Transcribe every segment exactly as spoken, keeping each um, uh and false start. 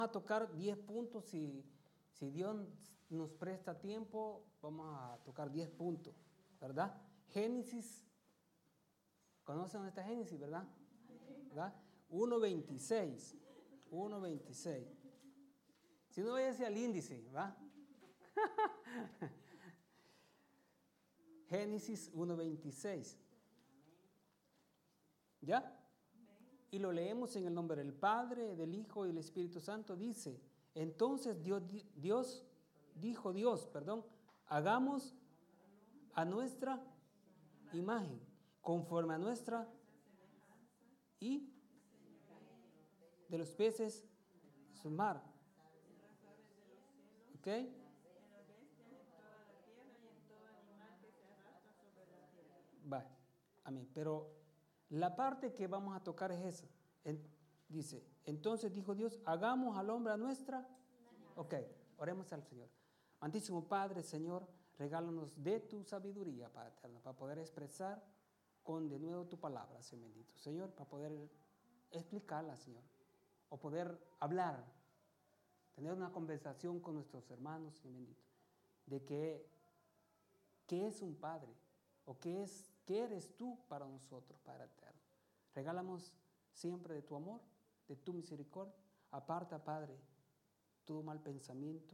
a tocar diez puntos, si, si Dios nos presta tiempo, vamos a tocar diez puntos, ¿verdad? Génesis, ¿conocen dónde está Génesis, verdad? ¿verdad? uno veintiséis, uno veintiséis. Si no, vaya hacia el índice, ¿va? Génesis uno veintiséis. ¿Ya? Y lo leemos en el nombre del Padre, del Hijo y del Espíritu Santo. Dice, entonces Dios, Dios dijo Dios, perdón, hagamos a nuestra imagen, conforme a nuestra y de los peces de su mar. ¿Ok? Va, amén. Pero la parte que vamos a tocar es esa. En, dice, entonces dijo Dios, hagamos al hombre a nuestra. Ok, oremos al Señor. Amantísimo Padre, Señor, regálanos de tu sabiduría, Padre eterno, para poder expresar con de nuevo tu palabra, Señor bendito. Señor, para poder explicarla, Señor, o poder hablar, tener una conversación con nuestros hermanos, Señor bendito, de que, qué es un Padre, o qué es, qué eres tú para nosotros, Padre eterno. Regálamos siempre de tu amor, de tu misericordia. Aparta, Padre, todo mal pensamiento.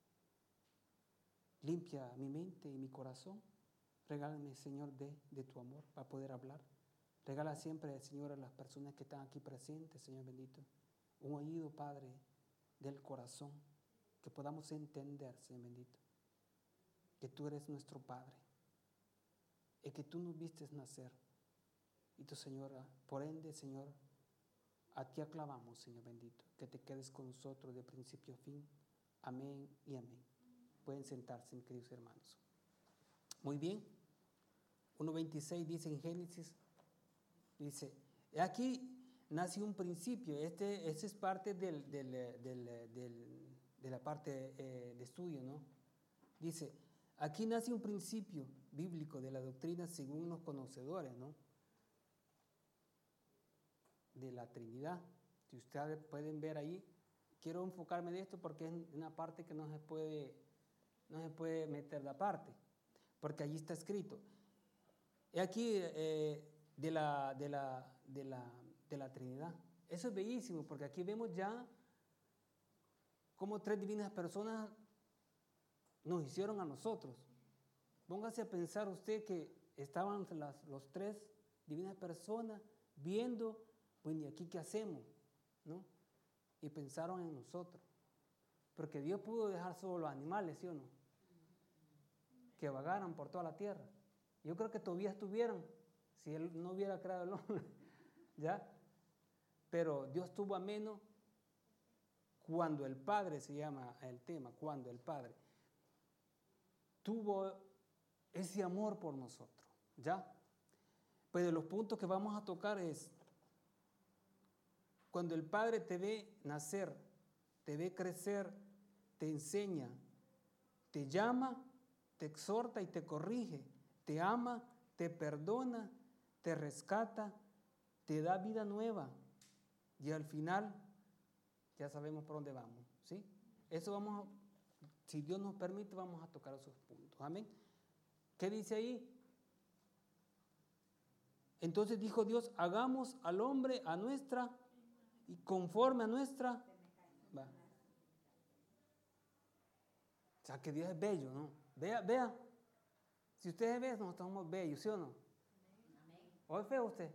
Limpia mi mente y mi corazón. Regálame, Señor, de, de tu amor para poder hablar. Regala siempre, Señor, a las personas que están aquí presentes, Señor bendito, un oído, Padre, del corazón, que podamos entender, Señor bendito, que tú eres nuestro Padre y que tú nos vistes nacer. Y tu Señora, por ende, Señor, a ti aclamamos, Señor bendito, que te quedes con nosotros de principio a fin. Amén y amén. Pueden sentarse, mis queridos hermanos. Muy bien. uno veintiséis dice en Génesis, dice, aquí nace un principio. Este, este es parte del, del, del, del, de la parte eh, de estudio, ¿no? Dice, aquí nace un principio bíblico de la doctrina según los conocedores, ¿no? De la Trinidad. Si ustedes pueden ver ahí, quiero enfocarme en esto porque es una parte que no se puede, no se puede meter de aparte, porque allí está escrito. Y aquí eh, de, la, de, la, de, la, de la Trinidad. Eso es bellísimo, porque aquí vemos ya cómo tres divinas personas nos hicieron a nosotros. Póngase a pensar usted que estaban las los tres divinas personas viendo, bueno, ¿y aquí qué hacemos? ¿No? Y pensaron en nosotros. Porque Dios pudo dejar solo los animales, ¿sí o no? Que vagaran por toda la tierra. Yo creo que todavía estuvieran si Él no hubiera creado el hombre, ¿ya? Pero Dios tuvo a menos cuando el Padre, se llama el tema, cuando el Padre tuvo ese amor por nosotros, ¿ya? Pues de los puntos que vamos a tocar es, cuando el Padre te ve nacer, te ve crecer, te enseña, te llama, te exhorta y te corrige, te ama, te perdona, te rescata, te da vida nueva y al final ya sabemos por dónde vamos, ¿sí? Eso vamos a, si Dios nos permite, vamos a tocar esos puntos, amén. ¿Qué dice ahí? Entonces dijo Dios, hagamos al hombre a nuestra y conforme a nuestra. Va. O sea que Dios es bello, ¿no? Vea, vea. Si usted ve, nosotros somos bellos, ¿sí o no? ¿O es feo usted?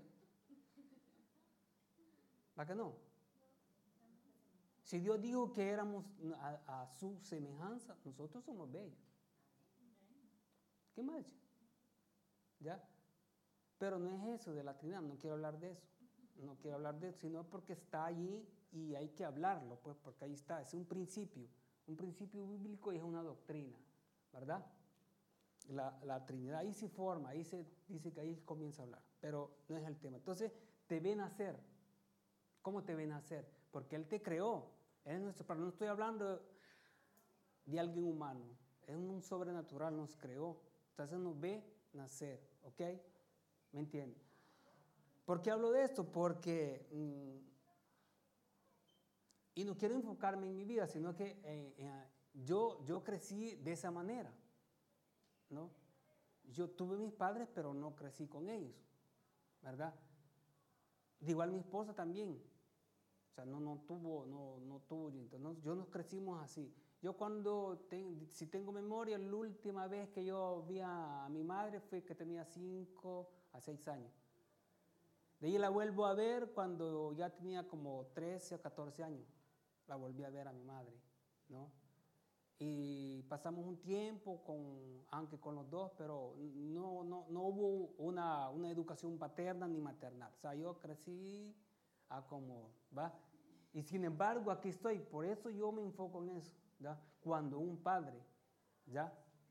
¿Va que no? Si Dios dijo que éramos a, a su semejanza, nosotros somos bellos. ¿Qué más? ¿Ya? Pero no es eso de la Trinidad, no quiero hablar de eso. No quiero hablar de eso, sino porque está allí y hay que hablarlo, pues, porque ahí está, es un principio, un principio bíblico y es una doctrina, ¿verdad? La, la Trinidad ahí se forma, ahí se dice que ahí comienza a hablar, pero no es el tema. Entonces, te ven nacer. ¿Cómo te ven nacer? Porque Él te creó. Él es nuestro Padre. No estoy hablando de alguien humano, es un sobrenatural, nos creó. Entonces nos ve nacer, ¿ok? ¿Me entiendes? ¿Por qué hablo de esto? Porque mmm, Y no quiero enfocarme en mi vida, sino que eh, eh, yo, yo crecí de esa manera, ¿no? Yo tuve mis padres, pero no crecí con ellos, ¿verdad? De igual mi esposa también. O sea, no, no tuvo, no, no tuvo, entonces, yo nos crecimos así. Yo cuando, ten, si tengo memoria, la última vez que yo vi a, a mi madre fue que tenía cinco a seis años. De ahí la vuelvo a ver cuando ya tenía como trece o catorce años. La volví a ver a mi madre, ¿no? Y pasamos un tiempo, con, aunque con los dos, pero no, no, no hubo una, una educación paterna ni maternal. O sea, yo crecí a como, ¿va? Y sin embargo, aquí estoy. Por eso yo me enfoco en eso, ¿ya? Cuando un padre, ¿ya?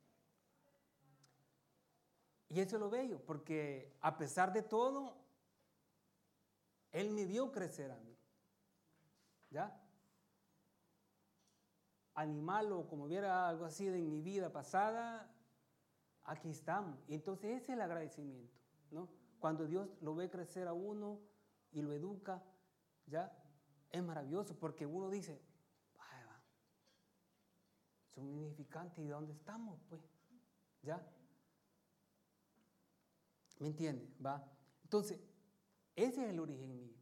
Y eso es lo bello, porque a pesar de todo, él me vio crecer a mí, ¿ya? Animal o como hubiera algo así de en mi vida pasada, aquí estamos. Y entonces ese es el agradecimiento, ¿no? Cuando Dios lo ve crecer a uno y lo educa, ¿ya? Es maravilloso porque uno dice, ay, va, son insignificantes, ¿y de dónde estamos, pues? ¿Ya? ¿Me entiende? ¿Va? Entonces, ese es el origen mío.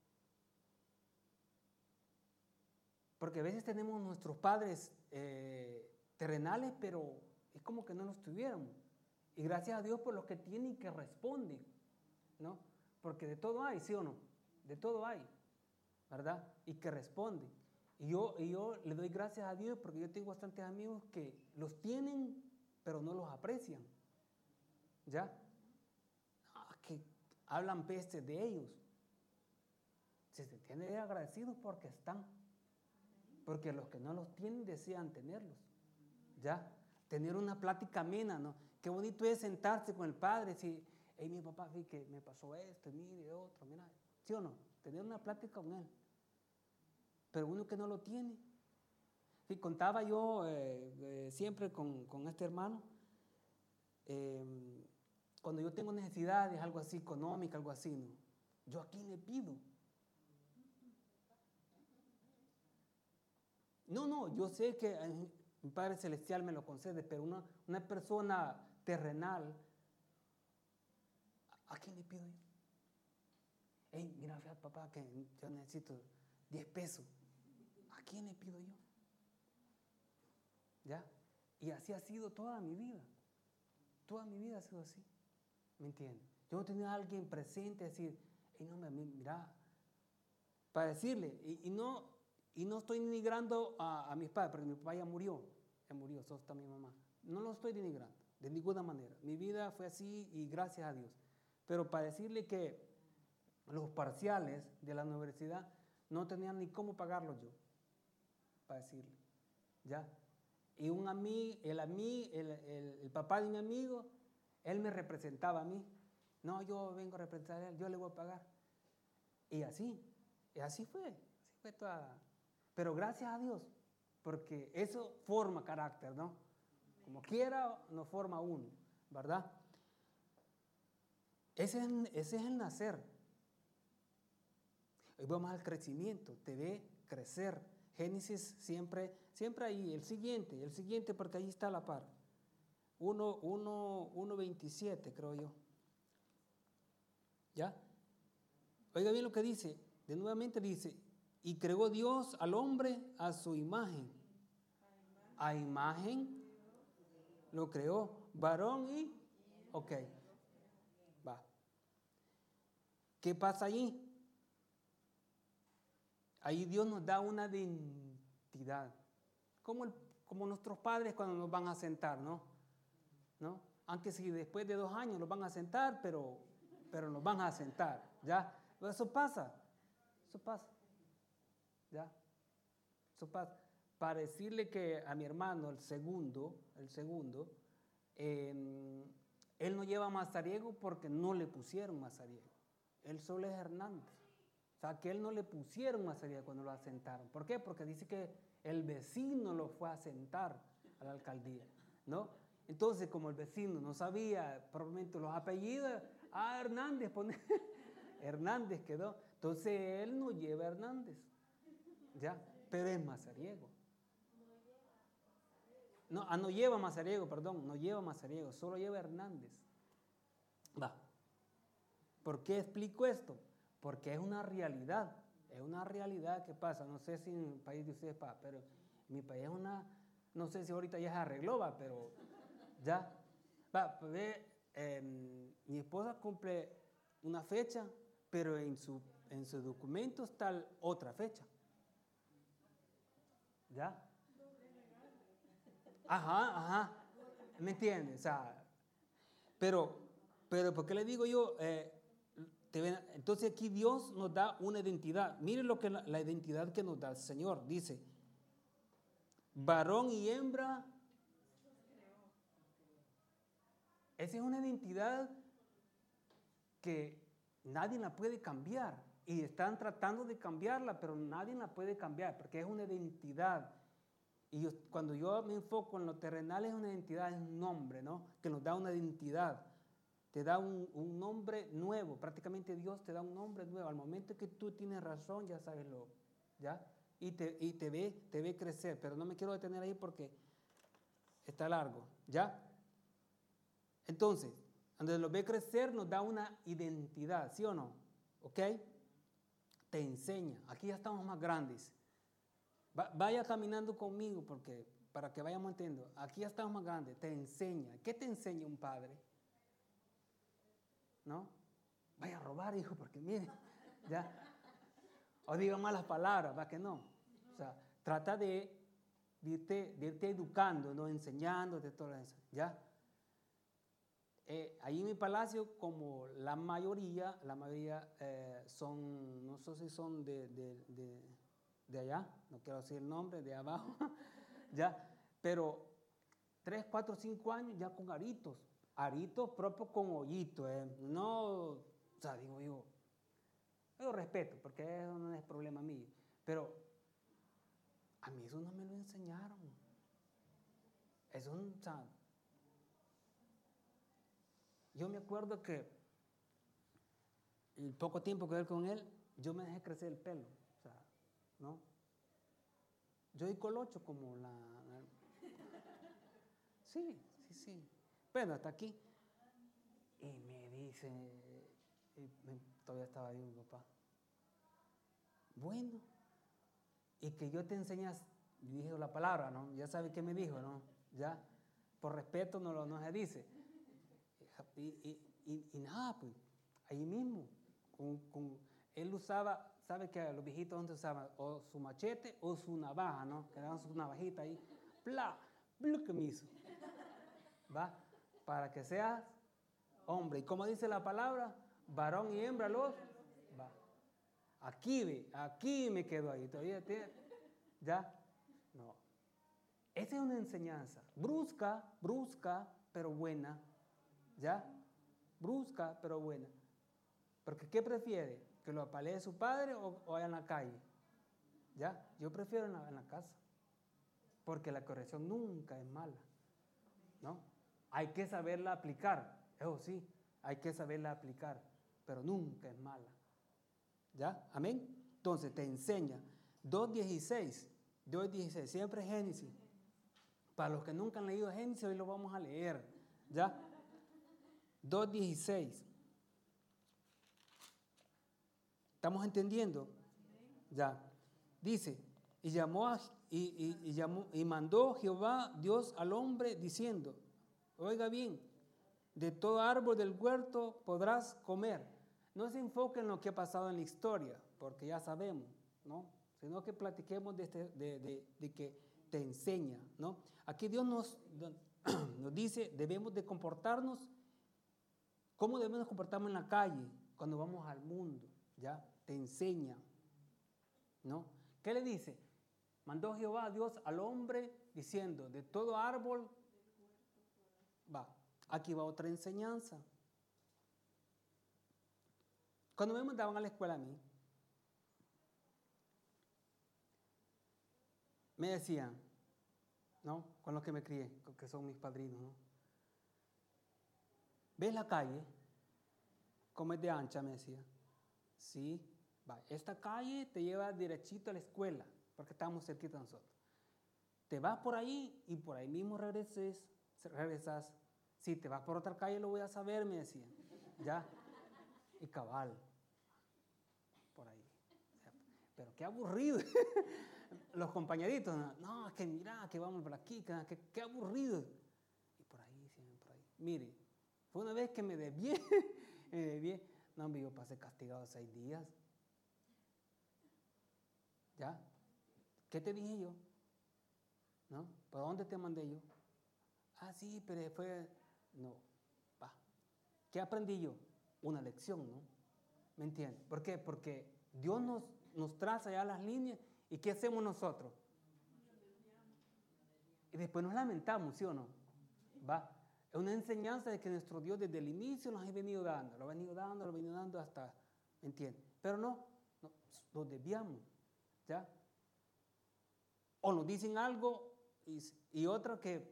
Porque a veces tenemos nuestros padres eh, terrenales, pero es como que no los tuviéramos. Y gracias a Dios por los que tienen y que responden, ¿no? Porque de todo hay, ¿sí o no? De todo hay, ¿verdad? Y que responden. Y yo, y yo le doy gracias a Dios porque yo tengo bastantes amigos que los tienen, pero no los aprecian, ¿ya? Ah, que hablan peste de ellos. Se tienen agradecidos porque están. Porque los que no los tienen desean tenerlos, ¿ya? Tener una plática amena, ¿no? Qué bonito es sentarse con el padre, si, hey, mi papá, sí, que me pasó esto, mire, otro, mira, ¿sí o no? Tener una plática con él. Pero uno que no lo tiene. Sí, contaba yo eh, eh, siempre con, con este hermano, eh, cuando yo tengo necesidades, algo así, económica, algo así, ¿no? ¿Yo a quién le pido? No, no, yo sé que eh, mi Padre Celestial me lo concede, pero una, una persona terrenal, ¿a, a quién le pido yo? Hey, mira, fíjate, papá, que yo necesito diez pesos. ¿A quién le pido yo? ¿Ya? Y así ha sido toda mi vida. Toda mi vida ha sido así. ¿Me entiendes? Yo no tenía a alguien presente decir, hey, no, mira, para decirle, y, y no... Y no estoy denigrando a, a mis padres, porque mi papá ya murió, ya murió, eso está mi mamá. No lo estoy denigrando, de ninguna manera. Mi vida fue así y gracias a Dios. Pero para decirle que los parciales de la universidad no tenían ni cómo pagarlos yo, para decirle, ¿ya? Y un amigo, el, ami, el, el, el papá de un amigo, él me representaba a mí. No, yo vengo a representar a él, yo le voy a pagar. Y así, y así fue, así fue toda... Pero gracias a Dios, porque eso forma carácter, ¿no? Como quiera, nos forma uno, ¿verdad? Ese es, ese es el nacer. Hoy vamos al crecimiento, te ve crecer. Génesis siempre, siempre ahí, el siguiente, el siguiente, porque ahí está la par. uno veintisiete, creo yo. ¿Ya? Oiga bien lo que dice, de nuevamente dice, y creó Dios al hombre a su imagen. A imagen lo creó, varón y... Ok, va. ¿Qué pasa allí? Ahí Dios nos da una identidad. Como, el, como nuestros padres cuando nos van a sentar, ¿no? ¿No? Aunque si después de dos años nos van a sentar, pero, pero nos van a sentar, ¿ya? Eso pasa, eso pasa. ¿Ya? Eso pasa. Para decirle que a mi hermano, el segundo, el segundo, eh, él no lleva mazariego porque no le pusieron mazariego. Él solo es Hernández. O sea, que él no le pusieron mazariego cuando lo asentaron. ¿Por qué? Porque dice que el vecino lo fue a sentar a la alcaldía, ¿no? Entonces, como el vecino no sabía probablemente los apellidos, ah, Hernández, pone, Hernández quedó. Entonces, él no lleva a Hernández. ¿Ya? pero es Mazariego. No, ah, no lleva Mazariego, perdón, no lleva Mazariego, solo lleva Hernández. Va. ¿Por qué explico esto? Porque es una realidad, es una realidad que pasa. No sé si en el país de ustedes pasa, pero en mi país es una, no sé si ahorita ya se arregló, va, pero ya. Va, ve, eh, mi esposa cumple una fecha, pero en su, en su documento está otra fecha. ¿Ya? Ajá, ajá. ¿Me entiendes? O sea, pero, pero, ¿por qué le digo yo? Eh, te ven, entonces aquí Dios nos da una identidad. Miren lo que la, la identidad que nos da el Señor. Dice, varón y hembra. Esa es una identidad que nadie la puede cambiar. Y están tratando de cambiarla, pero nadie la puede cambiar, porque es una identidad. Y yo, cuando yo me enfoco en lo terrenal, es una identidad, es un nombre, ¿no? Que nos da una identidad. Te da un, un nombre nuevo. Prácticamente Dios te da un nombre nuevo. Al momento que tú tienes razón, ya sabes lo, ¿ya? Y te, y te ve, te ve crecer. Pero no me quiero detener ahí porque está largo, ¿ya? Entonces, cuando lo ve crecer, nos da una identidad, ¿sí o no? ¿Ok? Te enseña. Aquí ya estamos más grandes. Va, vaya caminando conmigo porque para que vayamos entendiendo. Aquí ya estamos más grandes. Te enseña. ¿Qué te enseña un padre? ¿No? Vaya a robar, hijo, porque mire, ya. O diga malas palabras, va que no. O sea, trata de, de, irte, de irte educando, ¿no? Enseñándote todo eso, ¿ya? Eh, ahí en mi palacio, como la mayoría, la mayoría eh, son, no sé si son de, de, de, de allá, no quiero decir el nombre, de abajo, ya, pero tres, cuatro, cinco años ya con aritos, aritos propios con hoyito, eh, no, o sea, digo yo, yo respeto, porque eso no es problema mío, pero a mí eso no me lo enseñaron, eso es un, o sea, yo me acuerdo que el poco tiempo que ver con él, yo me dejé crecer el pelo, o sea, ¿no? Yo di colocho como la, la... Sí, sí, sí. Bueno, hasta aquí. Y me dice, y me, todavía estaba ahí mi papá. Bueno, y que yo te enseñas, dije la palabra, ¿no? Ya sabe qué me dijo, ¿no? Ya, por respeto no lo no se dice. Y, y, y, y nada, pues, ahí mismo. Con, con, él usaba, ¿sabe que los viejitos donde usaban? O su machete o su navaja, ¿no? Que daban su navajita ahí. ¡Pla! ¡Blu! Que me hizo. ¿Va? Para que seas hombre. ¿Y como dice la palabra? Varón y hembra los. Va. Aquí, ve, aquí me quedo ahí. ¿Todavía tiene? ¿Ya? No. Esa es una enseñanza. Brusca, brusca, pero buena. ¿Ya? Brusca, pero buena. Porque ¿qué prefiere? ¿Que lo apalee su padre o, o allá en la calle? ¿Ya? Yo prefiero en la, en la casa. Porque la corrección nunca es mala. ¿No? Hay que saberla aplicar. Eso sí, hay que saberla aplicar. Pero nunca es mala. ¿Ya? Amén. Entonces te enseña. dos dieciséis. dos dieciséis. Siempre Génesis. Para los que nunca han leído Génesis, hoy lo vamos a leer. ¿Ya? dos dieciséis. ¿Estamos entendiendo? Ya. Dice, y llamó a, y, y, y, llamó, y mandó Jehová Dios al hombre diciendo, oiga bien, de todo árbol del huerto podrás comer. No se enfoque en lo que ha pasado en la historia, porque ya sabemos, ¿no? Sino que platiquemos de, este, de, de, de que te enseña, ¿no? Aquí Dios nos, nos dice, debemos de comportarnos, ¿cómo debemos comportarnos en la calle cuando vamos al mundo? ¿Ya? Te enseña, ¿no? ¿Qué le dice? Mandó Jehová Dios al hombre diciendo, de todo árbol, va, aquí va otra enseñanza. Cuando me mandaban a la escuela a mí, me decían, ¿no? Con los que me crié, que son mis padrinos, ¿no? ¿Ves la calle? ¿Cómo es de ancha? Me decía. Sí, va, esta calle te lleva derechito a la escuela. porque estamos cerquita de nosotros. Te vas por ahí y por ahí mismo regreses, regresas. Si te vas por otra calle lo voy a saber, me decían. Ya. Y cabal. Por ahí. Pero qué aburrido. Los compañeritos, no, es que mira, que vamos por aquí, que, que, qué aburrido. Y por ahí, siempre por ahí. Mire, fue una vez que me desvié, me desvié. No, yo pasé castigado seis días. ¿Ya? ¿Qué te dije yo? ¿No? ¿Para dónde te mandé yo? Ah, sí, pero fue... No, va. ¿Qué aprendí yo? Una lección, ¿no? ¿Me entiendes? ¿Por qué? Porque Dios nos, nos traza ya las líneas y ¿qué hacemos nosotros? Y después nos lamentamos, ¿sí o no? Va. Es una enseñanza de que nuestro Dios desde el inicio nos ha venido dando, lo ha venido dando, lo ha venido dando hasta, ¿me entiendes? Pero no, no, nos desviamos, ¿ya? O nos dicen algo y, y otra que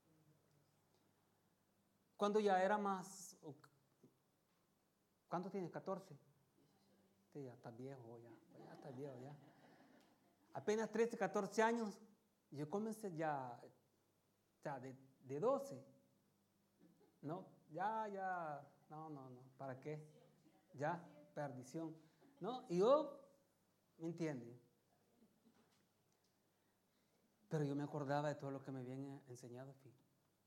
cuando ya era más, ¿cuánto tienes? catorce. Sí, ya estás viejo, ya, ya estás viejo, ya. Apenas trece, catorce años, yo comencé ya, ya de, de doce, ¿no? Ya, ya, no, no, no, ¿para qué? Ya, perdición, ¿no? Y yo, ¿me entiendes? Pero yo me acordaba de todo lo que me habían enseñado, fíjate.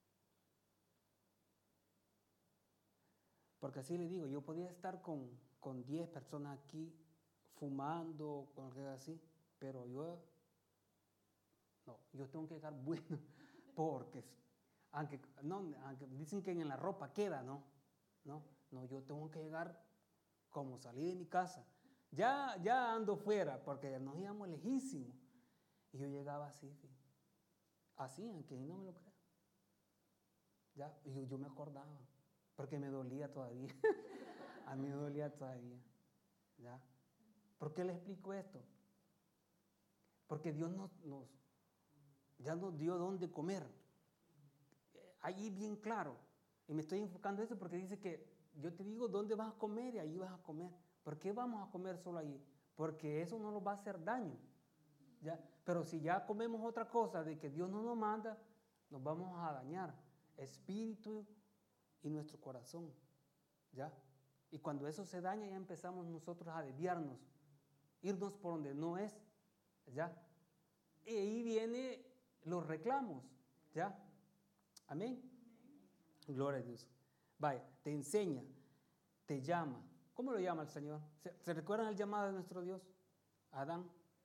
Porque así le digo, yo podía estar con, con diez personas aquí fumando, con algo así, pero yo, no, yo tengo que llegar bueno, porque aunque, no, aunque dicen que en la ropa queda, ¿no? No, no, yo tengo que llegar como salí de mi casa. Ya, ya ando fuera, porque nos íbamos lejísimos. Y yo llegaba así, así, aunque no me lo crea. Ya, y yo, yo me acordaba, porque me dolía todavía. A mí me dolía todavía. ¿Ya? ¿Por qué le explico esto? Porque Dios nos, nos, ya nos dio dónde comer. Allí bien claro. Y me estoy enfocando en eso porque dice que yo te digo dónde vas a comer y ahí vas a comer. ¿Por qué vamos a comer solo allí? Porque eso no nos va a hacer daño. ¿Ya? Pero si ya comemos otra cosa de que Dios no nos manda, nos vamos a dañar espíritu y nuestro corazón. ¿Ya? Y cuando eso se daña ya empezamos nosotros a desviarnos, irnos por donde no es. ¿Ya? Y ahí vienen los reclamos. ¿Ya? Amén. Gloria a Dios. Vaya, te enseña, te llama. ¿Cómo lo llama el Señor? ¿Se, ¿se recuerdan el llamado de nuestro Dios? Adán.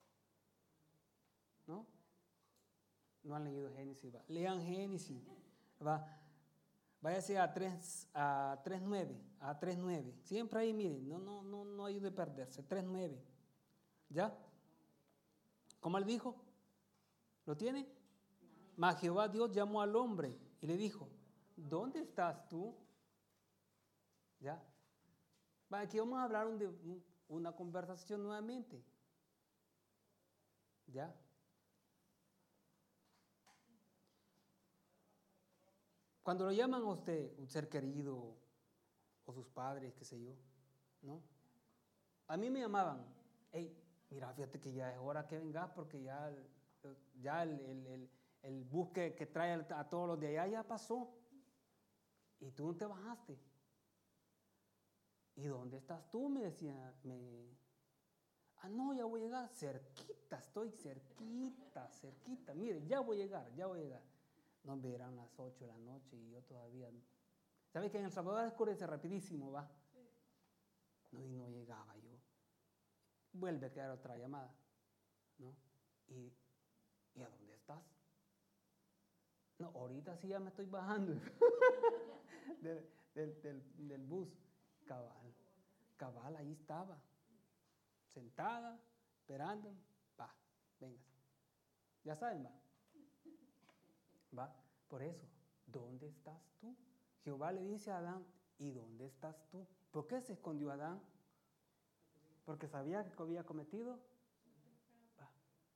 ¿No? No han leído Génesis. Va. Lean Génesis. Va. Váyase a tres, a tres nueve, a tres nueve. Siempre ahí, miren, no, no, no, no hay de perderse. tres nueve. ¿Ya? ¿Cómo le dijo? ¿Lo tiene? Mas Jehová Dios llamó al hombre y le dijo, ¿dónde estás tú? ¿Ya? Va, aquí vamos a hablar de una conversación nuevamente. ¿Ya? Cuando lo llaman a usted, un ser querido, o sus padres, qué sé yo, ¿no? A mí me llamaban, hey, mira, fíjate que ya es hora que vengas porque ya, ya el, el, el, el bus que, que trae a todos los de allá ya pasó. Y tú no te bajaste. ¿Y dónde estás tú? Me decía, me... Ah, no, ya voy a llegar, cerquita, estoy cerquita, cerquita. Mire, ya voy a llegar, ya voy a llegar. No, eran las ocho de la noche y yo todavía... ¿Sabes que en El Salvador oscurece rapidísimo, va? No, y no llegaba yo. Vuelve a quedar otra llamada, ¿no? ¿Y, ¿y a dónde estás? No, ahorita sí ya me estoy bajando del, del, del, del bus. Cabal, cabal, ahí estaba, sentada, esperando. Va, venga. Ya saben, va. Va, por eso, ¿dónde estás tú? Jehová le dice a Adán, ¿y dónde estás tú? ¿Por qué se escondió Adán? ¿Porque sabía que había cometido? Va.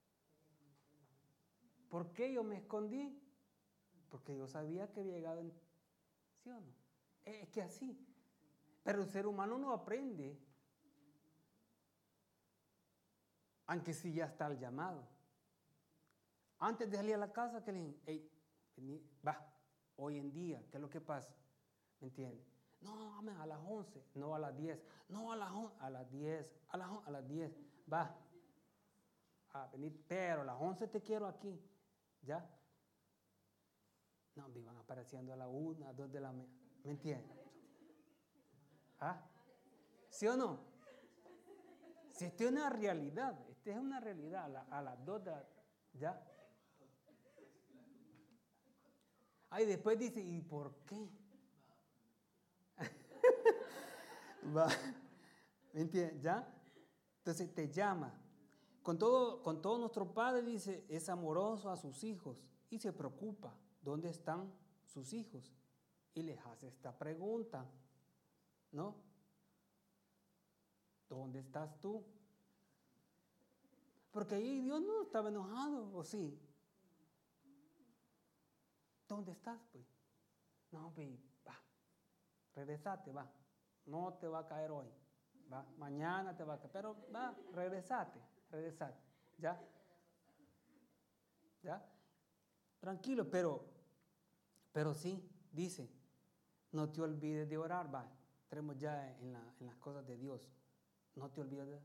¿Por qué yo me escondí? Porque yo sabía que había llegado en... ¿Sí o no? Es que así. Pero el ser humano no aprende. Aunque sí ya está el llamado. Antes de salir a la casa, que le dicen, hey, vení, va, hoy en día, ¿qué es lo que pasa? ¿Me entiendes? No, amén, a las once, no a las diez, no a las once, a las diez, a las, a las diez, va, a venir, pero a las once te quiero aquí, ¿ya? No, me iban apareciendo a la una, a dos de la mañana, ¿me entiendes? ¿Ah? ¿Sí o no? Si esto es una realidad, esta es una realidad, a, la, a las dos de la, ¿ya? Ay, después dice, ¿y por qué? Va, ¿me entiendes? ¿Ya? Entonces te llama. Con todo, con todo nuestro Padre, dice, es amoroso a sus hijos y se preocupa dónde están sus hijos. Y les hace esta pregunta, ¿no? ¿Dónde estás tú? Porque ahí Dios no estaba enojado, ¿o sí? ¿Dónde estás, pues? No, pues, va, regresate, va. No te va a caer hoy, va. Mañana te va a caer, pero va, regresate, regresate, ¿ya? ¿Ya? Tranquilo, pero, pero sí, dice, no te olvides de orar, va. Entremos ya en, la, en las cosas de Dios. No te olvides de,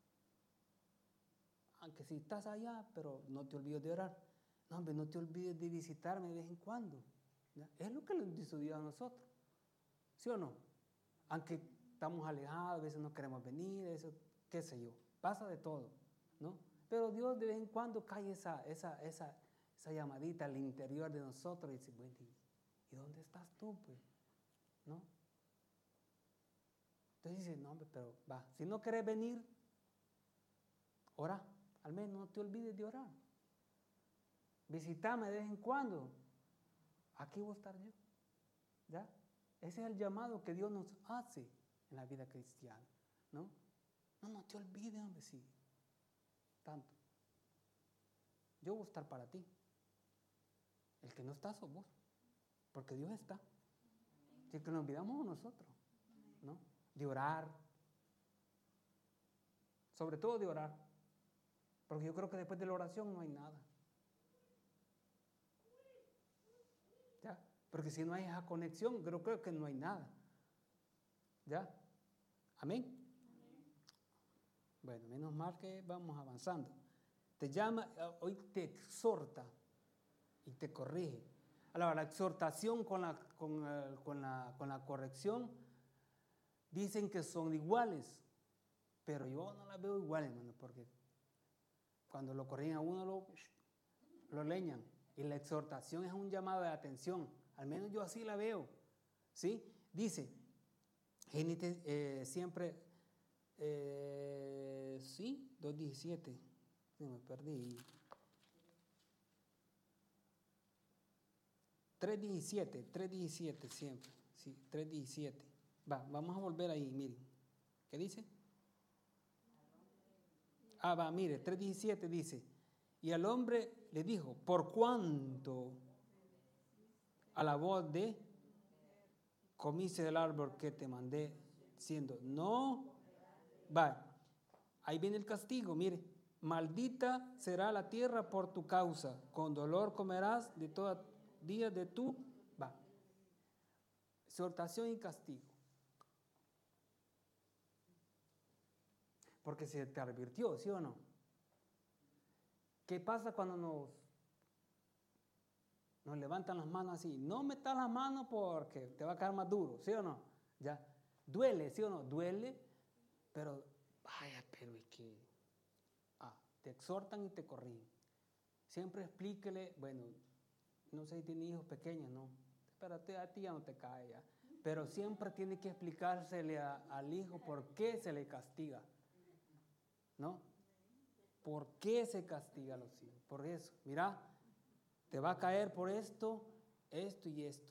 aunque si estás allá, pero no te olvides de orar. No, hombre, no te olvides de visitarme de vez en cuando. ¿Ya? Es lo que nos dice Dios a nosotros. ¿Sí o no? Aunque estamos alejados, a veces no queremos venir, eso, qué sé yo. Pasa de todo, ¿no? Pero Dios de vez en cuando cae esa, esa, esa, esa llamadita al interior de nosotros y dice, bueno, ¿y dónde estás tú, pues? ¿No? Entonces dice, no, hombre, pero va, si no querés venir, ora, al menos no te olvides de orar. Visítame de vez en cuando. Aquí voy a estar yo. ¿Ya? Ese es el llamado que Dios nos hace en la vida cristiana, ¿no? No, no te olvides, hombre, sí. Tanto. Yo voy a estar para ti. El que no está sos vos. Porque Dios está. Si que nos olvidamos nosotros, ¿no? De orar. Sobre todo de orar. Porque yo creo que después de la oración no hay nada. ¿Ya? Porque si no hay esa conexión, creo, creo que no hay nada. ¿Ya? Amén. Bueno, menos mal que vamos avanzando. Te llama, hoy te exhorta y te corrige. Ahora, la exhortación con la, con, el, con, la, con la corrección dicen que son iguales, pero yo no las veo iguales, hermano, porque cuando lo corrigen a uno lo, lo leñan. Y la exhortación es un llamado de atención. Al menos yo así la veo. ¿Sí? Dice, Génesis eh, siempre, eh, sí, dos diecisiete. No, me perdí. tres diecisiete, tres diecisiete siempre. Sí, tres diecisiete. Va, vamos a volver ahí, miren. ¿Qué dice? Ah, va, mire, tres diecisiete dice, y al hombre le dijo, por cuanto a la voz de comiste del árbol que te mandé, diciendo, no, va, ahí viene el castigo, mire, maldita será la tierra por tu causa, con dolor comerás de todos días de tu, va, exhortación y castigo. Porque se te advirtió, ¿sí o no? ¿Qué pasa cuando nos, nos levantan las manos así? No metas las manos porque te va a caer más duro, ¿sí o no? Ya, duele, ¿sí o no? Duele, pero, vaya, pero es que, ah, te exhortan y te corrigen. Siempre explíquele, bueno, no sé si tiene hijos pequeños, ¿no? Espérate, a ti ya no te cae ya. Pero siempre tiene que explicársele a, al hijo por qué se le castiga, ¿no? ¿Por qué se castiga a los hijos? Por eso, mira, te va a caer por esto, esto y esto,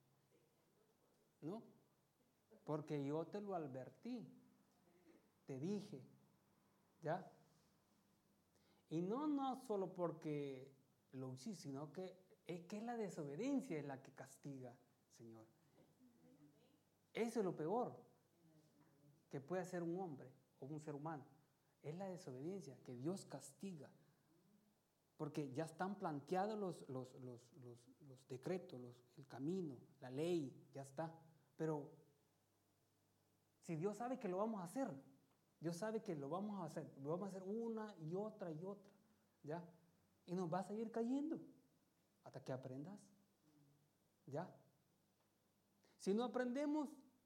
¿no? Porque yo te lo advertí, te dije, ¿ya? Y no, no solo porque lo hiciste, sino que es que la desobediencia es la que castiga, Señor. Eso es lo peor que puede hacer un hombre o un ser humano. Es la desobediencia que Dios castiga. porque ya están planteados los, los, los, los, los decretos, los, el camino, la ley, ya está. Pero si Dios sabe que lo vamos a hacer, Dios sabe que lo vamos a hacer, lo vamos a hacer una y otra y otra, ¿ya? Y nos va a seguir cayendo hasta que aprendas, ¿ya? Si no aprendemos,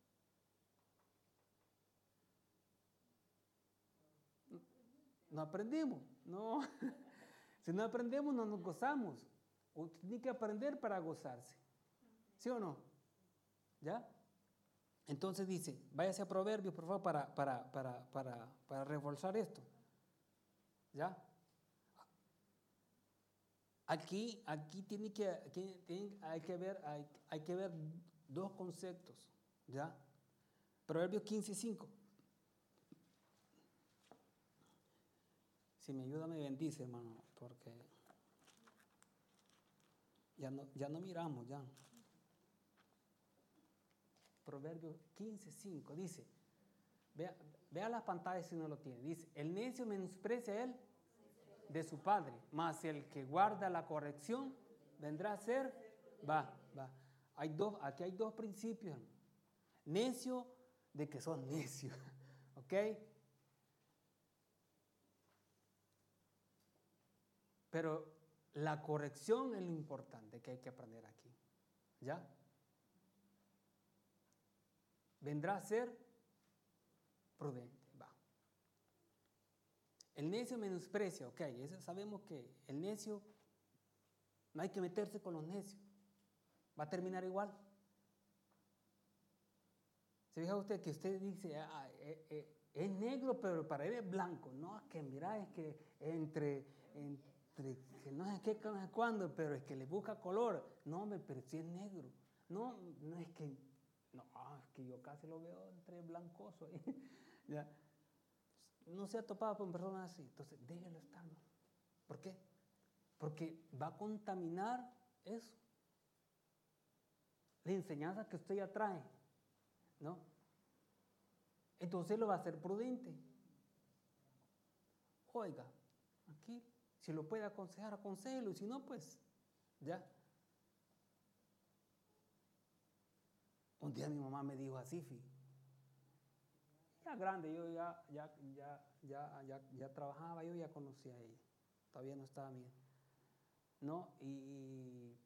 no aprendemos, no. Si no aprendemos, no nos gozamos. Usted tiene que aprender para gozarse, ¿sí o no? ¿Ya? Entonces dice, váyase a Proverbios, por favor, para, para, para, para, para reforzar esto. ¿Ya? Aquí, aquí tiene que, aquí tiene, hay, que ver, hay, hay que ver dos conceptos. ¿Ya? Proverbios quince, cinco. Si me ayuda, me bendice, hermano, porque ya no, ya no miramos, ya. Proverbios quince, cinco, dice, vea, vea las pantallas si no lo tiene, dice, el necio menosprecia a él de su padre, mas el que guarda la corrección vendrá a ser, va, va. Hay dos, aquí hay dos principios, hermano. Necio de que sos necio, ¿ok? Pero la corrección es lo importante que hay que aprender aquí, ¿ya? Vendrá a ser prudente, va. El necio menosprecia, ok, eso sabemos que el necio, no hay que meterse con los necios, va a terminar igual. ¿Se fija usted que usted dice, ah, eh, eh, es negro, pero para él es blanco? No, es que mira, es que entre, entre que no sé qué, no sé cuándo, pero es que le busca color. No, pero si es negro. No, no es que, no, es que yo casi lo veo entre blancoso ahí. ¿Ya? No se ha topado con personas así, entonces déjelo estar, ¿no? ¿Por qué? Porque va a contaminar eso, la enseñanza que usted ya trae, ¿no? Entonces lo va a hacer prudente. Oiga, aquí, si lo puede aconsejar, aconsejelo, y si no, pues, ya. Un día mi mamá me dijo así, fi, ya grande, yo ya, ya, ya, ya, ya, ya trabajaba, yo ya conocía a ella, todavía no estaba bien, ¿no? Y,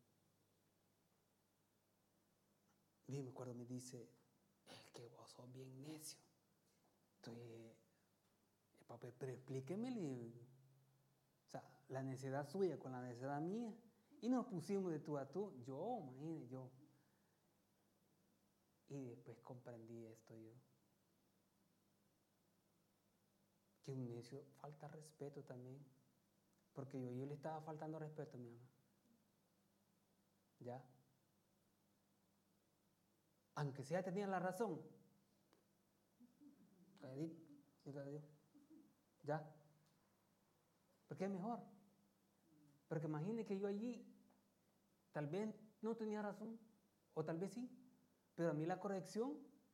y me acuerdo, me dice, es que vos sos bien necio. Entonces, papá, pero explíqueme, o sea, la necesidad suya con la necesidad mía, y nos pusimos de tú a tú, yo, imagínate, yo. Y después comprendí esto yo. Que un necio falta respeto también. Porque yo, yo le estaba faltando respeto a mi mamá. ¿Ya? Aunque sea tenía la razón. Calladito, calladito. ¿Ya? Porque es mejor. Porque imagine que yo allí tal vez no tenía razón. O tal vez sí. Pero a mí la corrección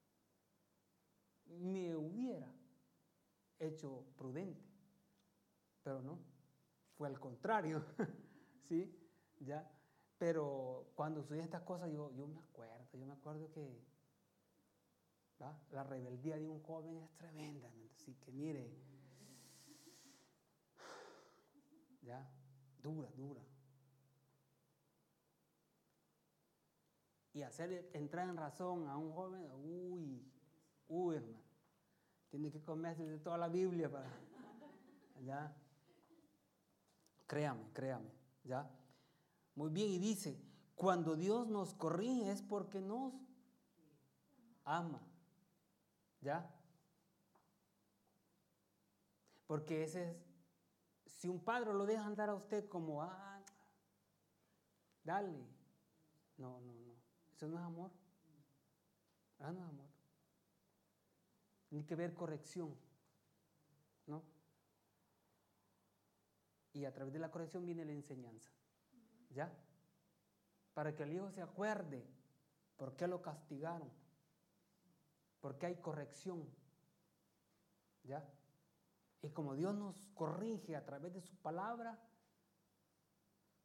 me hubiera hecho prudente, pero no, fue al contrario, ¿sí? ¿Ya? Pero cuando suceden estas cosas, yo, yo me acuerdo, yo me acuerdo que ¿va? La rebeldía de un joven es tremenda, así que mire, ya, dura, dura. Y hacer entrar en razón a un joven, uy, uy, hermano, tiene que comerse de toda la Biblia para, ¿ya? Créame, créame, ¿ya? Muy bien, y dice, cuando Dios nos corrige es porque nos ama, ¿ya? Porque ese es, si un padre lo deja andar a usted como, ah, dale, no, no, no, eso no es amor, eso no es amor. Tiene que ver corrección, ¿no? Y a través de la corrección viene la enseñanza, ¿ya? Para que el hijo se acuerde por qué lo castigaron, por qué hay corrección, ¿ya? Y como Dios nos corrige a través de su palabra,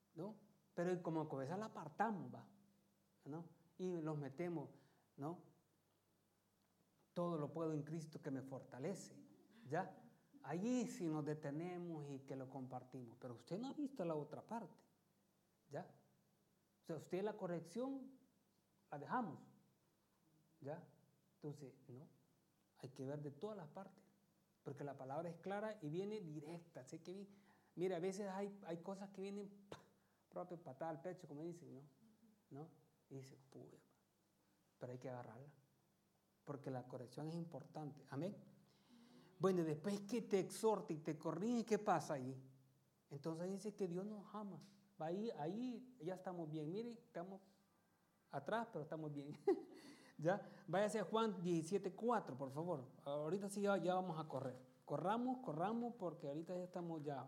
¿no? Pero como que a veces la apartamos, ¿va? ¿No? Y los metemos, ¿no? Todo lo puedo en Cristo que me fortalece, ¿ya? Allí sí nos detenemos y que lo compartimos, pero usted no ha visto la otra parte, ¿ya? O sea, usted la corrección la dejamos, ¿ya? Entonces, no, hay que ver de todas las partes, porque la palabra es clara y viene directa, sé que, mira, a veces hay, hay cosas que vienen ¡pah! Propio patada al pecho, como dicen, ¿no? ¿No? Y dice, puya, pero hay que agarrarla, porque la corrección es importante, amén. Bueno, después que te exhorte y te corrige, ¿qué pasa ahí? Entonces dice que Dios nos ama. Ahí, ahí ya estamos bien. Mire, estamos atrás, pero estamos bien. ¿Ya? Váyase a Juan diecisiete cuatro, por favor. Ahorita sí ya, ya vamos a correr. Corramos, corramos, porque ahorita ya estamos ya.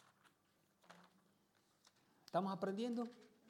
¿Estamos aprendiendo?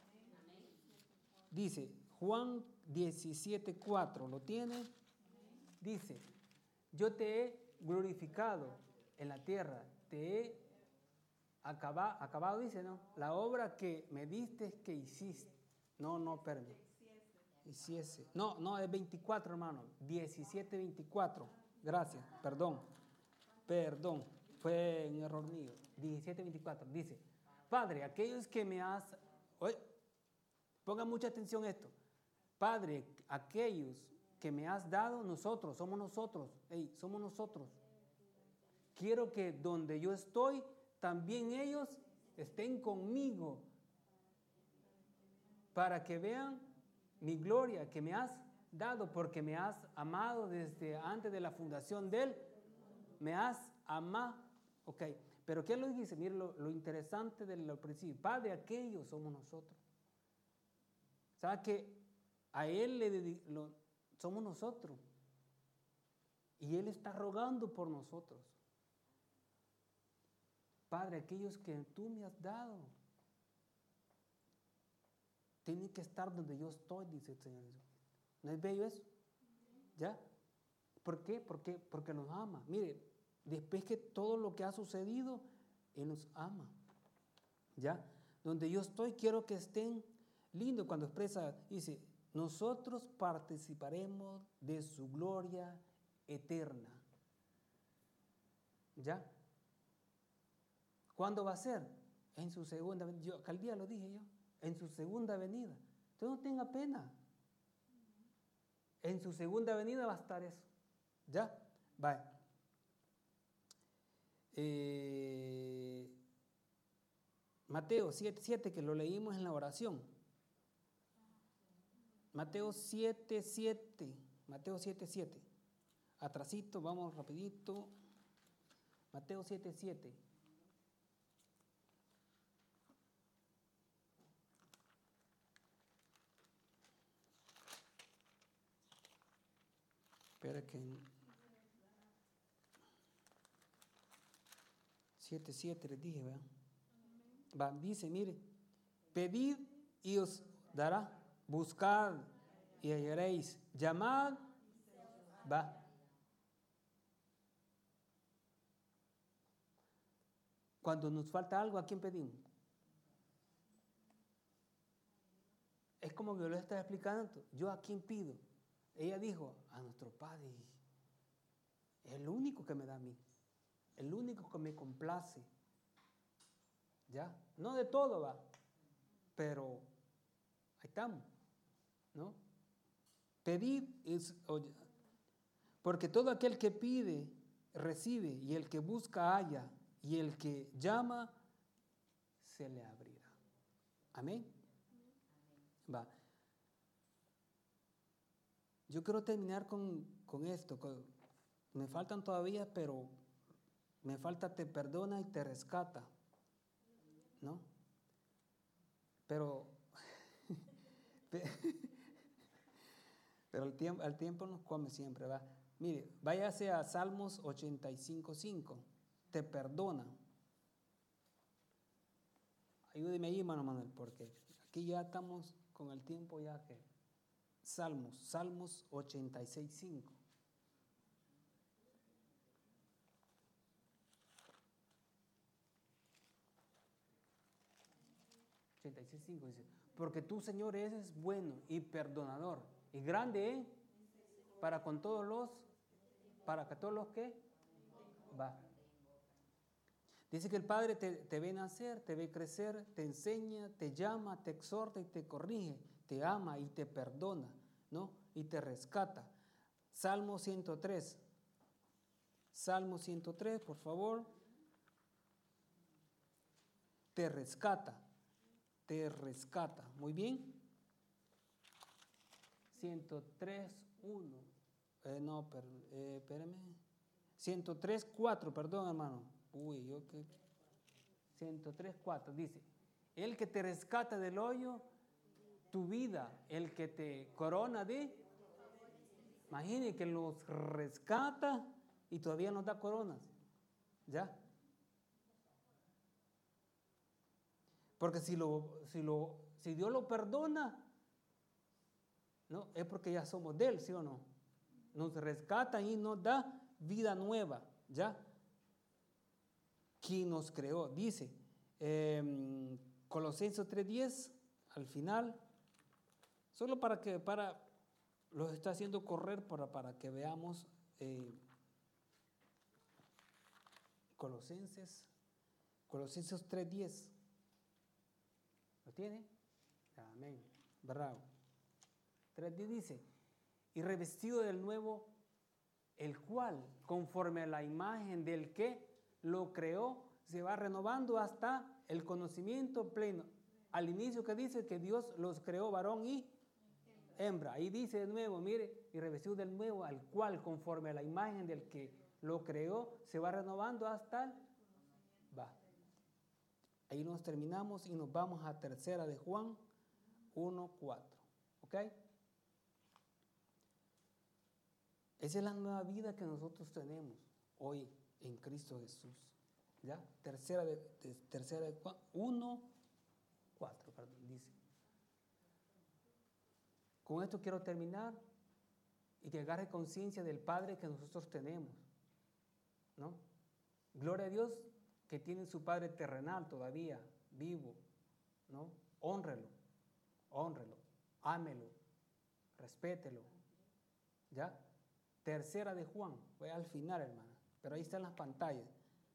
Dice Juan diecisiete cuatro, ¿lo tiene? Dice, yo te he glorificado en la tierra, te he acabado, acabado dice, ¿no? La obra que me diste que hiciste. No, no, perdón. Hiciese. No, no, es veinticuatro, hermano. diecisiete veinticuatro. Gracias, perdón. Perdón, fue un error mío. diecisiete veinticuatro. Dice, Padre, aquellos que me has... Oye, pongan mucha atención a esto. Padre, aquellos que me has dado, nosotros, somos nosotros. Hey, somos nosotros. Quiero que donde yo estoy, también ellos estén conmigo. Para que vean mi gloria que me has dado, porque me has amado desde antes de la fundación de él. Me has amado. Ok, pero ¿qué lo dice? Mire lo, lo interesante del principio. Padre, aquellos somos nosotros. ¿Sabe que a él le lo, somos nosotros? Y él está rogando por nosotros. Padre, aquellos que tú me has dado tienen que estar donde yo estoy, dice el Señor Jesucristo. ¿No es bello eso? ¿Ya? ¿Por qué? Porque, porque nos ama. Mire, después que todo lo que ha sucedido, Él nos ama. ¿Ya? Donde yo estoy, quiero que estén lindo cuando expresa, dice, nosotros participaremos de su gloria eterna. ¿Ya? ¿Cuándo va a ser? En su segunda venida. Yo, aquel día lo dije yo. En su segunda venida. Usted no tenga pena. En su segunda venida va a estar eso. ¿Ya? Vale. Eh, Mateo siete siete, que lo leímos en la oración. Mateo siete siete. Mateo siete siete. Atrasito, vamos rapidito. Mateo siete siete. Espera que... siete siete les dije, ¿verdad? Va, dice, mire, pedid y os dará, buscad y hallaréis, llamad, va. Cuando nos falta algo, ¿a quién pedimos? Es como que yo le estaba explicando, ¿yo a quién pido? Ella dijo, a nuestro Padre. Es el único que me da a mí, el único que me complace. ¿Ya? No de todo va, pero ahí estamos, ¿no? Pedid, es, oye, porque todo aquel que pide, recibe, y el que busca, halla, y el que llama, se le abrirá. Amén. Va. Yo quiero terminar con, con esto. Con, me faltan todavía, pero me falta te perdona y te rescata, ¿no? Pero, pero el tiempo, el tiempo nos come siempre, ¿va? Mire, váyase a Salmos ochenta y cinco cinco. Te perdona. Ayúdeme ahí, hermano Manuel, porque aquí ya estamos con el tiempo ya que... Salmos, Salmos ochenta y seis cinco. ochenta y seis, cinco dice, porque tú, Señor, eres bueno y perdonador y grande, ¿eh? Para con todos los, para que todos los que va. Dice que el Padre te, te ve nacer, te ve crecer, te enseña, te llama, te exhorta y te corrige, te ama y te perdona, ¿no? Y te rescata. Salmo ciento tres. Salmo ciento tres, por favor. Te rescata, te rescata. Muy bien. ciento tres, uno. Eh, no, per, eh, espérame. ciento tres, cuatro, perdón, hermano. Uy, yo que. ciento tres, cuatro. Dice: el que te rescata del hoyo, tu vida, el que te corona de. Imagine que los rescata y todavía nos da coronas. ¿Ya? Porque si, lo, si, lo, si Dios lo perdona, ¿no? Es porque ya somos de Él, ¿sí o no? Nos rescata y nos da vida nueva, ¿ya? Quien nos creó, dice, eh, Colosenses tres diez, al final, solo para que, para, los está haciendo correr para, para que veamos, eh, Colosenses, Colosenses tres diez. ¿Lo tiene? Amén. Bravo. tres diez dice, y revestido del nuevo, el cual, conforme a la imagen del que lo creó, se va renovando hasta el conocimiento pleno. Al inicio que dice que Dios los creó varón y hembra. Ahí dice de nuevo, mire, y revestido del nuevo, al cual, conforme a la imagen del que lo creó, se va renovando hasta el... Va. Ahí nos terminamos y nos vamos a tercera de Juan uno cuatro. ¿Ok? Esa es la nueva vida que nosotros tenemos hoy en Cristo Jesús. ¿Ya? Tercera de, de, tercera de Juan uno cuatro, perdón, dice. Con esto quiero terminar y que agarre conciencia del Padre que nosotros tenemos, ¿no? Gloria a Dios que tiene su Padre terrenal todavía, vivo, ¿no? Hónrelo, hónrelo, ámelo, respételo, ¿ya? Tercera de Juan, voy al final, hermana, pero ahí están las pantallas.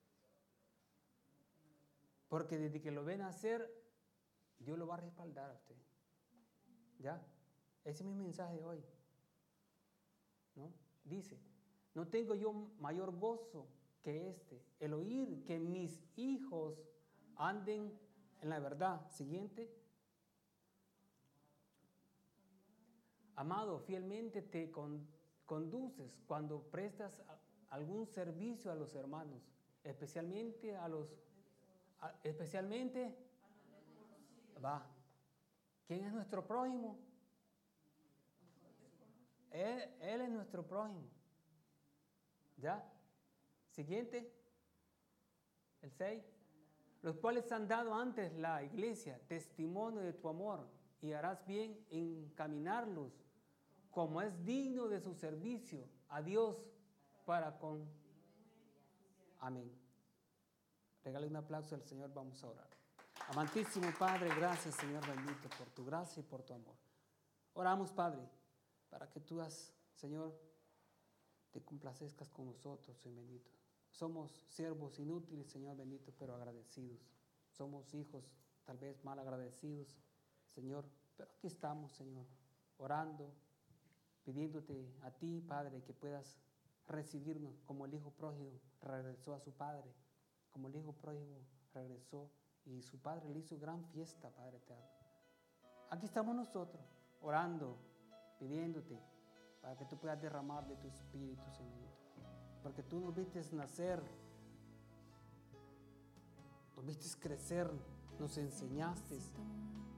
Porque desde que lo ven hacer, Dios lo va a respaldar a usted, ¿ya? Ese es mi mensaje hoy, ¿no? Dice, no tengo yo mayor gozo que este, el oír que mis hijos anden en la verdad. Siguiente. Amado, fielmente te con, conduces cuando prestas a, algún servicio a los hermanos, especialmente a los, a, especialmente, va. ¿Quién es nuestro prójimo? Él, él es nuestro prójimo. ¿Ya? Siguiente. El seis. Los cuales han dado antes la iglesia testimonio de tu amor, y harás bien en encaminarlos como es digno de su servicio a Dios para con... Amén. Regale un aplauso al Señor, vamos a orar. Amantísimo Padre, gracias, Señor bendito, por tu gracia y por tu amor. Oramos, Padre, para que tú, has, Señor, te complazcas con nosotros, Señor bendito. Somos siervos inútiles, Señor bendito, pero agradecidos. Somos hijos tal vez mal agradecidos, Señor, pero aquí estamos, Señor, orando, pidiéndote a ti, Padre, que puedas recibirnos como el hijo pródigo regresó a su padre, como el hijo pródigo regresó y su padre le hizo gran fiesta, Padre eterno. Aquí estamos nosotros, orando, pidiéndote para que tú puedas derramar de tu espíritu, Señor, porque tú nos viste nacer, nos viste crecer, nos enseñaste,